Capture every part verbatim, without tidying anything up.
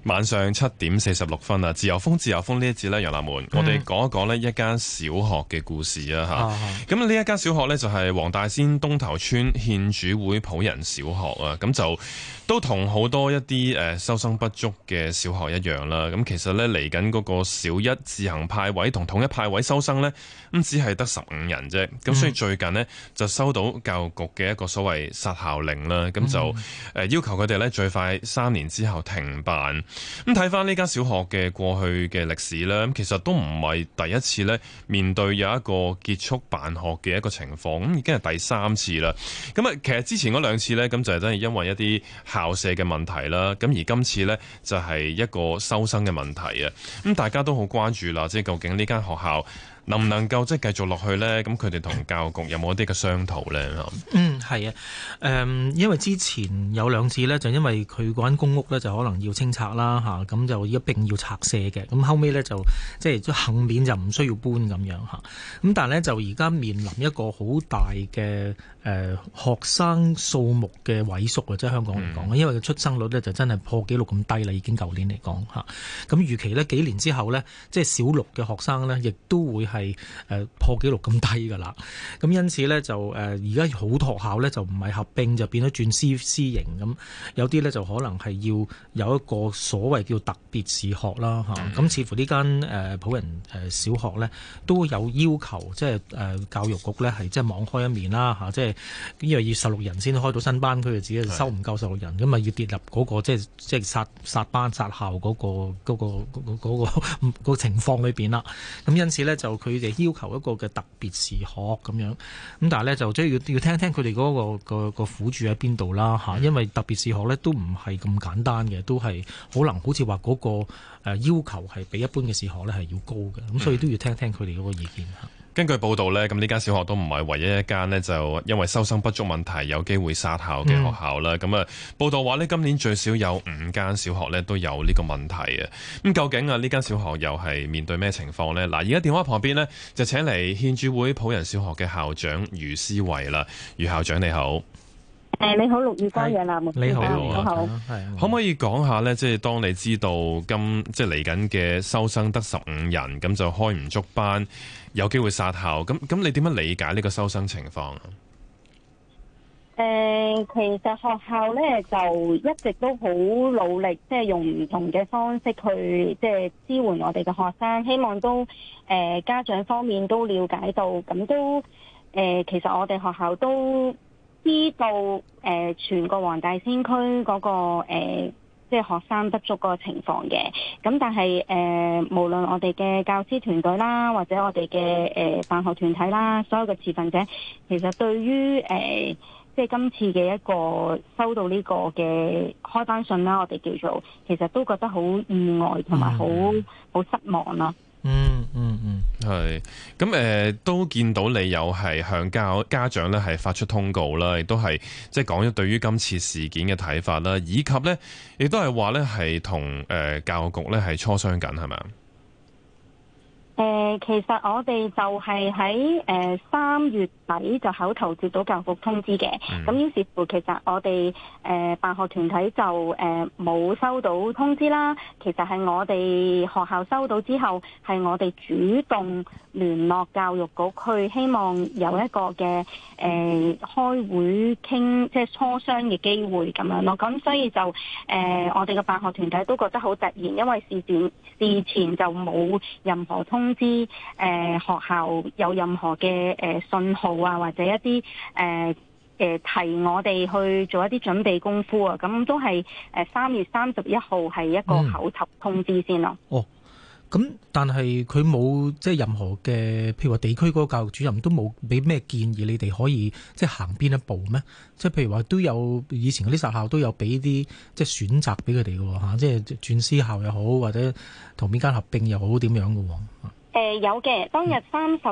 晚上七點四十六分啊！自由風，自由風呢一節呢，楊立門，嗯、我哋講一講呢一間小學嘅故事啊吓。咁呢、啊、一間小學呢，就係黃大仙東頭村獻主會普仁小學啊。咁就都同好多一啲誒收生不足嘅小學一樣啦。咁其實呢，嚟緊嗰個小一自行派位同統一派位收生呢，咁只係得十五人啫。咁所以最近呢，就收到教育局嘅一個所謂殺校令啦。咁就誒要求佢哋呢，最快三年之後停辦。咁睇翻呢間小學嘅過去嘅歷史咧，咁其實都唔係第一次咧面對有一個結束辦學嘅一個情況，咁已經係第三次啦。咁啊，其實之前嗰兩次咧，咁就係真係因為一啲校舍嘅問題啦。咁而今次咧就係一個收生嘅問題啊。咁大家都好關注啦，即係究竟呢間學校能唔能夠即係繼續落去呢？咁佢哋同教育局有冇一啲嘅商討呢？ 嗯，係啊，誒、嗯，因為之前有兩次呢，就因為佢嗰間公屋呢，就可能要清拆啦嚇，咁就一並要拆卸嘅，咁後尾呢，就即係幸免就唔需要搬咁樣嚇，咁但係呢，就而家面臨一個好大嘅誒、呃、學生數目嘅萎縮啊，即係香港嚟講，嗯、因為出生率呢，就真係破紀錄咁低啦，已經舊年嚟講嚇，咁預期呢，幾年之後呢，即係小六嘅學生呢，亦都會係誒破紀錄咁低㗎啦，咁因此咧就誒而家好多學校咧就唔係合併，就變咗轉私私營咁，有啲咧就可能係要有一個所謂叫特別視學啦嚇，咁、嗯、似乎呢間誒普仁誒小學咧都有要求，即係誒教育局咧係即係網開一面啦嚇，即係因為要十六人先開到新班，佢哋自己收唔夠十六人，咁啊要跌入嗰個即係即係殺殺班殺校嗰個嗰個嗰個嗰個情況裏邊啦，咁因此咧就佢哋要求一個嘅特別視學咁樣，咁但係咧就即係要要聽聽佢哋嗰個個個苦處喺邊度啦嚇，因為特別視學咧都唔係咁簡單嘅，都係可能好似話嗰個誒要求係比一般嘅視學咧係要高嘅，咁所以都要聽聽佢哋嗰個意見嚇。 根據報道呢，咁呢間小學都唔係唯一一間呢，就因為收生不足問題有機會殺校嘅學校啦。咁啊、嗯，報道話呢，今年最少有五間小學呢都有呢個問題啊。咁究竟啊呢間小學又係面對咩情況呢？嗱，而家電話旁邊呢，就請嚟獻主會普仁小學嘅校長余思維啦。余校長你好。 誒，你好，陸宇光楊立門， 你好， 你好， 係， 可唔可以講下呢？即係當你知道今即係嚟緊嘅收生得十五人，咁就開唔足班，有機會殺校，咁咁你點樣理解呢個收生情況啊？ 誒、呃，其實學校咧就一直都好努力，即係用唔同嘅方式去即係支援我哋嘅學生，希望都誒、呃、家長方面都了解到，咁都誒、呃、其實我哋學校都知道誒、呃、全個黃大仙區嗰、那個誒、呃、即係學生不足嗰個情況嘅，咁但係誒、呃、無論我哋嘅教師團隊啦，或者我哋嘅誒辦學團體啦，所有嘅持份者，其實對於誒、呃、即係今次嘅一個收到呢個嘅開班信啦，我哋叫做其實都覺得好意外同埋好好失望啦。 嗯嗯嗯， 係咁誒，都見到你有係向家家長咧係發出通告啦，亦都係即係講咗對於今次事件嘅睇法啦，以及咧亦都係話咧係同誒教育局咧係磋商緊，係咪啊？ 誒、呃，其實我哋就係喺誒三月底就口頭接到教育局通知嘅，咁、嗯、於是乎其實我哋誒、呃、辦學團體就誒冇、呃、收到通知啦。其實係我哋學校收到之後，係我哋主動聯絡教育局，去希望有一個嘅誒、呃、開會傾，即係磋商嘅機會咁樣咯。咁所以就誒、呃、我哋嘅辦學團體都覺得好突然，因為事前事前就冇任何通。通知誒、呃、學校有任何嘅誒、呃、信號啊，或者一啲誒誒提我哋去做一啲準備功夫啊，咁都係誒三月三十一號係一個口頭通知先咯。 嗯、哦，咁但係佢冇即係任何嘅，譬如話地區嗰個教育主任都冇俾咩建議你哋可以即係行邊一步咩？即係譬如話都有以前嗰啲殺校都有俾啲即係選擇俾佢哋嘅吓，即係轉私校又好，或者同邊間合併又好，點樣嘅？ 誒、呃，有嘅，當日三十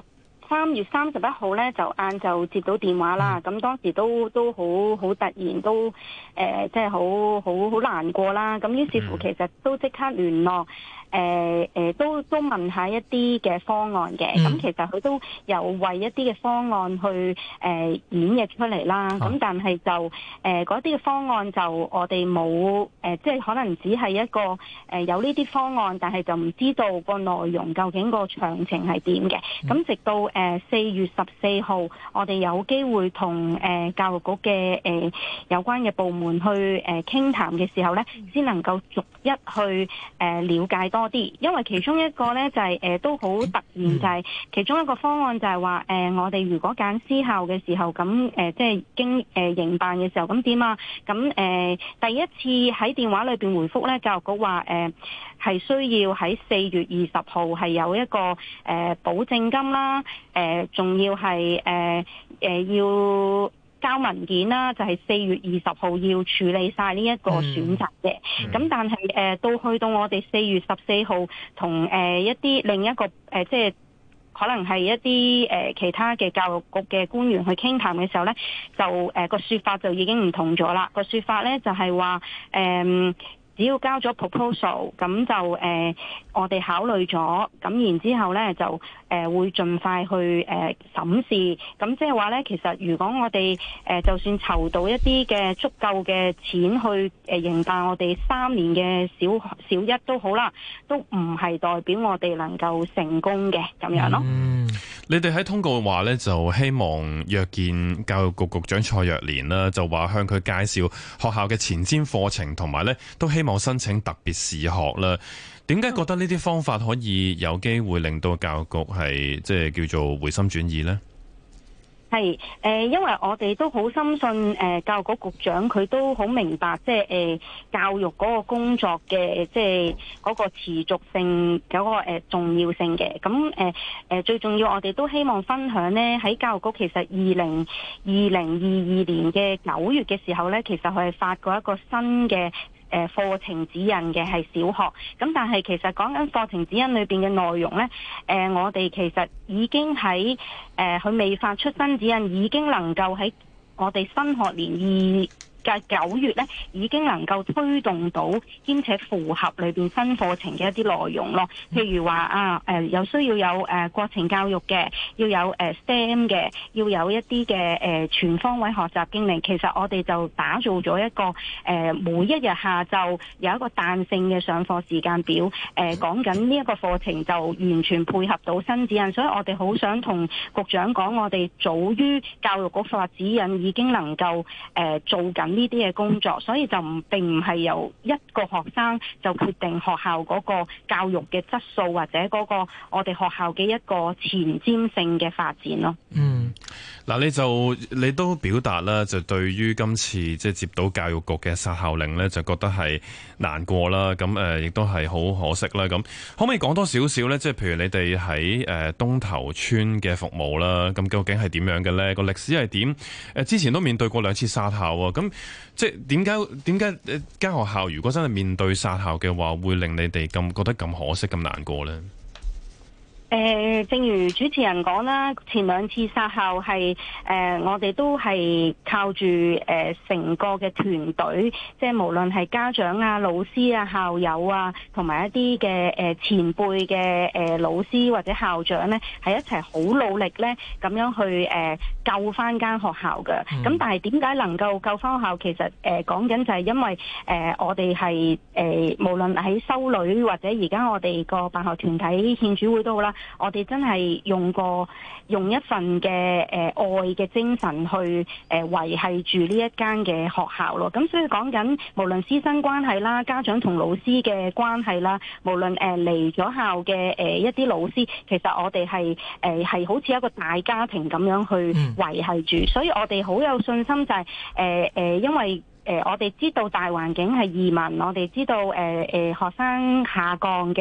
三月三十一號咧就晏晝接到電話啦，咁、嗯、當時都都好好突然，都誒即係好好好難過啦。咁於是乎其實都即刻聯絡。誒、呃、誒、呃、都都問下一啲嘅方案嘅，咁、嗯、其實佢都有為一啲嘅方案去誒、呃、演繹出嚟啦。咁、啊、但係就誒嗰啲嘅方案就我哋冇誒，即係可能只係一個誒、呃、有呢啲方案，但係就唔知道個內容究竟個詳情係點嘅。咁、嗯、直到誒四、呃、月十四號，我哋有機會同誒、呃、教育局嘅誒、呃、有關嘅部門去誒傾談嘅時候咧，先能夠逐一去誒、呃、了解多。多啲，因為其中一個咧就係、是、誒、呃、都好突然，就係其中一個方案就係話誒我哋如果揀私校嘅時候，咁誒、呃、即係經誒、呃、營辦嘅時候，咁點啊？咁誒、呃、第一次喺電話裏邊回覆咧，教育局話誒係需要喺四月二十號係有一個誒、呃、保證金啦，誒、呃、仲要係誒誒要。交文件啦，就係、是、四月二十號要處理晒呢一個選擇嘅。咁、嗯、但係誒、呃、到去到我哋四月十四號同誒一啲另一個誒、呃、即係可能係一啲誒、呃、其他嘅教育局嘅官員去傾談嘅時候咧，就誒、呃、個說法就已經唔同咗啦。個說法咧就係話誒只要交咗 proposal，咁就誒、呃、我哋考慮咗，咁然之後咧就誒、呃、會盡快去誒、呃、審視。咁即係話咧，其實如果我哋誒、呃、就算籌到一啲嘅足夠嘅錢去誒營辦我哋三年嘅小小一都好啦，都唔係代表我哋能夠成功嘅咁樣咯。 嗯，你哋喺通告話咧，就希望約見教育局局長蔡若蓮啦，就話向佢介紹學校嘅前瞻課程，同埋咧都希望申請特別視學啦。點解覺得呢啲方法可以有機會令到教育局係即係叫做回心轉意呢？ 係誒、呃，因為我哋都好深信誒、呃，教育局局長佢都好明白，即係誒、呃、教育嗰個工作嘅即係嗰個持續性嗰、嗰個誒、呃、重要性嘅。咁誒誒最重要，我哋都希望分享呢，喺教育局其實二零二零二二年嘅九月嘅時候呢，其實佢係發過一個新嘅誒課程指引嘅，係小學。咁但係其實講緊課程指引裏邊嘅內容呢，誒、呃、我哋其實已經喺誒佢未發出新指引，已經能夠喺我哋新學年二嘅九月咧，已經能夠推動到兼且符合裏邊新課程嘅一啲內容咯。譬如話啊，誒、呃、有需要有誒、呃、國情教育嘅，要有誒、呃、S T E M 嘅，要有一啲嘅誒全方位學習經歷。其實我哋就打造咗一個誒、呃、每一日下晝有一個彈性嘅上課時間表。誒、呃、講緊呢一個課程就完全配合到新指引，所以我哋好想同局長講，我哋早於教育局發指引已經能夠誒、呃、做緊呢啲嘅工作，所以就唔並唔係由一個學生就決定學校嗰個教育嘅質素，或者嗰個我哋學校嘅一個前瞻性嘅發展咯。 嗯， 嗱，你就你都表達啦，就對於今次即係接到教育局嘅殺校令呢，就覺得係難過啦。咁誒，亦都係好可惜啦。咁可唔可以講多少少呢？即係譬如你哋喺誒東頭村嘅服務啦，咁究竟係點樣嘅呢？個歷史係點？誒，之前都面對過兩次殺校啊。咁即係點解點解誒間學校如果真係面對殺校嘅話，會令你哋咁覺得咁可惜、咁難過呢？ 誒、呃，正如主持人講啦，前兩次殺校係誒、呃，我哋都係靠住誒成個嘅團隊，即係無論係家長啊、老師啊、校友啊，同埋一啲嘅誒前輩嘅誒老師或者校長咧，係一齊好努力咧，咁樣去誒、呃、救翻間學校嘅。咁、嗯、但係點解能夠救翻學校？其實誒講緊就係因為誒、呃、我哋係誒無論喺修女或者而家我哋個辦學團體獻主會都好啦。我哋真係用過用一份嘅誒、呃、愛嘅精神去誒、呃、維繫住呢一間嘅學校咯。咁所以講緊無論師生關係啦、家長同老師嘅關係啦，無論誒嚟咗校嘅誒、呃、一啲老師，其實我哋係誒係好似一個大家庭咁樣去維繫住。所以我哋好有信心就係誒誒，因為誒、呃、我哋知道大環境係移民，我哋知道誒誒、呃呃、學生下降嘅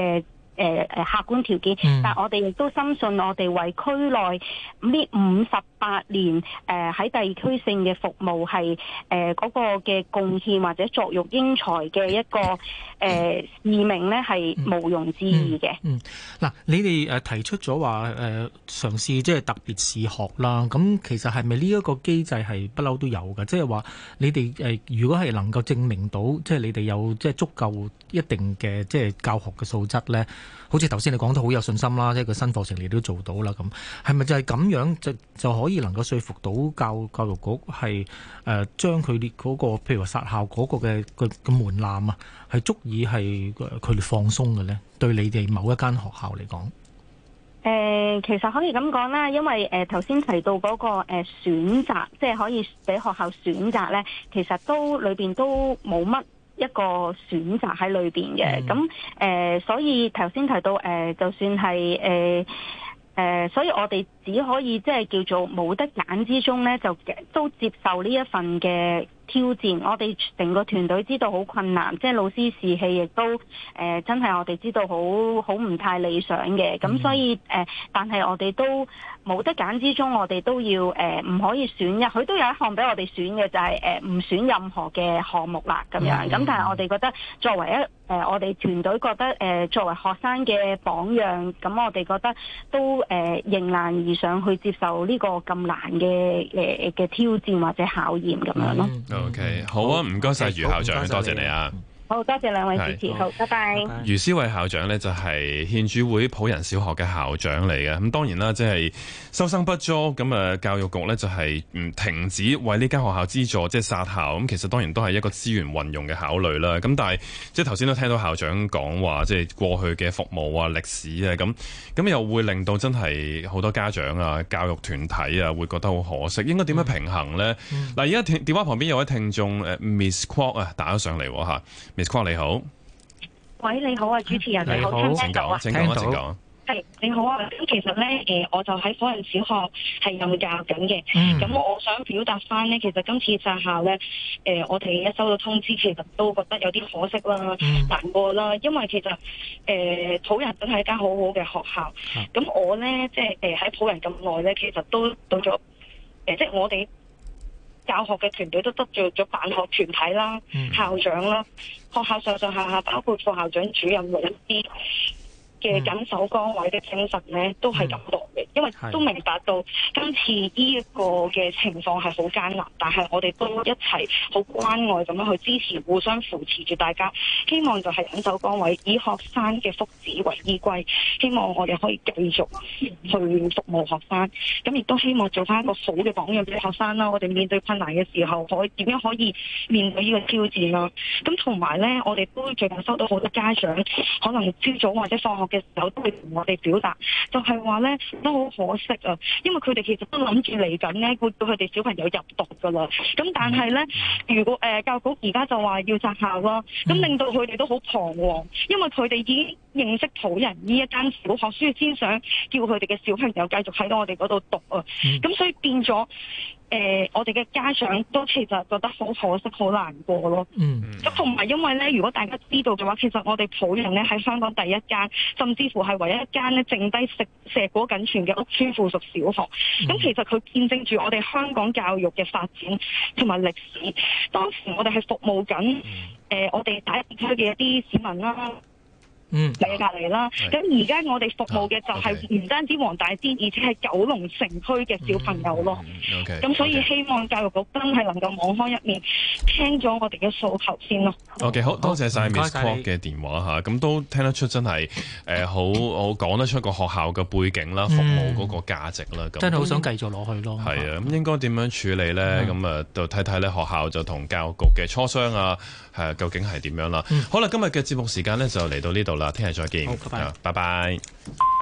誒誒客觀條件， 嗯、 但係我哋亦都深信我哋為區內呢五十八年誒喺、呃、地區性嘅服務係誒嗰個嘅貢獻或者作育英才嘅一個誒、呃、使命咧，係毋庸置疑嘅。 嗯，嗱、嗯，你哋誒提出咗話誒嘗試即係特別視學啦，咁其實係咪呢一個機制係不嬲都有嘅？即係話你哋誒、呃、如果係能夠證明到即係你哋有即係足夠一定嘅即係教學嘅素質咧，好似頭先你講得好有信心啦，即係個新課程你都做到啦，咁係咪就係咁樣就就可以能夠說服到教教育局係誒將佢哋嗰個譬如話殺校嗰個嘅個個門檻啊，係足以係佢哋放鬆嘅咧？對你哋某一間學校嚟講，誒、 呃、其實可以咁講啦，因為誒頭先提到嗰、那個誒、呃、選擇，即係可以俾學校選擇咧，其實都裏邊都冇乜一個選擇喺裏邊嘅。咁誒、嗯呃，所以頭先提到誒、呃，就算係誒。呃誒、呃，所以我哋只可以即係叫做冇得揀之中咧，就都接受呢一份嘅挑戰。我哋成個團隊知道好困難，即係老師士氣亦都誒、呃，真係我哋知道好好唔太理想嘅。咁所以誒、呃，但係我哋都冇得揀之中，我哋都要誒，唔、呃、可以選一。佢都有一項俾我哋選嘅，就係誒唔選任何嘅項目啦。咁樣咁，但係我哋覺得作為一誒、呃，我哋團隊覺得誒、呃，作為學生嘅榜樣，咁我哋覺得都誒、呃、迎難而上去接受呢個咁難嘅誒嘅挑戰或者考驗咁樣咯。 O、okay, K， 好啊，唔該晒余校長，多謝你啊。 好，多謝兩位主持，好，拜拜。 余詩慧校長呢，就係獻主會普仁小學嘅校長嚟嘅，咁當然啦，即係收生不足，咁啊教育局呢，就係唔停止為呢間學校資助，即係殺校，咁其實當然都係一個資源運用嘅考慮啦。咁但係即係頭先都聽到校長講話，即係過去嘅服務啊、歷史啊，咁咁又會令到真係好多家長啊、教育團體啊會覺得好可惜，應該點樣平衡呢？嗱、嗯，而家電電話旁邊有位聽眾誒 Miss Kwok 啊打咗上嚟嚇。Miss Kwok 你好， 喂，你好啊，主持人你好，聽唔聽到啊？ 請講，請講。 係你好啊，咁其實咧，誒、呃，我就喺普仁小學係任教緊嘅。咁、嗯、我想表達翻咧，其實今次殺校咧，誒、呃，我哋一收到通知，其實都覺得有啲可惜啦、嗯、難過啦，因為其實誒、呃，普仁真係一間好好嘅學校。咁、啊、我咧，即係誒喺普仁咁耐咧，其實都到咗，誒、呃，即係我哋教學嘅團隊都得罪咗辦學團體啦、嗯、校長啦、學校上上下下包括副校長、主任、老師嘅緊守崗位嘅精神咧，都係感動嘅，因為都明白到今次呢一個嘅情況係好艱難，但係我哋都一齊好關愛咁樣去支持，互相扶持住大家，希望就係緊守崗位，以學生嘅福祉為依歸，希望我哋可以繼續去服務學生，咁亦都希望做翻一個好嘅榜樣俾學生啦。我哋面對困難嘅時候，可以點樣可以面對呢個挑戰啦？咁同埋咧，我哋都最近收到好多家長，可能朝早或者放學嘅時候都會同我哋表達，就係話咧都好可惜啊，因為佢哋其實都諗住嚟緊咧會叫佢哋小朋友入讀噶啦，咁但係咧如果誒、呃、教育局而家就話要殺校啦，咁令到佢哋都好彷徨，因為佢哋已經認識普仁呢一間小學，所以先想叫佢哋嘅小朋友繼續喺我哋嗰度讀啊，咁所以變咗。誒、呃，我哋嘅家長都其實覺得好可惜、好難過咯。嗯，咁同埋因為咧，如果大家知道嘅話，其實我哋普仁咧喺香港第一間，甚至乎係唯一一間咧剩低食碩果僅存嘅屋邨附屬小學。咁、嗯、其實佢見證住我哋香港教育嘅發展同埋歷史。當時我哋係服務緊誒、呃，我哋第一區嘅一啲市民啦。嗯，嚟隔離啦。咁而家我哋服務嘅就係唔單止黃大仙，而且係九龍城區嘅小朋友咯。咁、okay, okay. 所以希望教育局真係能夠網開一面，聽咗我哋嘅訴求先咯。 OK，好多謝晒 Miss Kwok 嘅電話嚇，咁都聽得出真係誒好好講得出個學校嘅背景啦，服務嗰個價值啦。咁、嗯、 真係好想繼續落去咯。 係啊，咁應該點樣處理咧？咁、嗯、啊，就睇睇咧學校就同教育局嘅磋商啊，係究竟係點樣啦？嗯、好啦，今日嘅節目時間咧就嚟到呢度啦。聽日再見，好，拜拜。拜拜。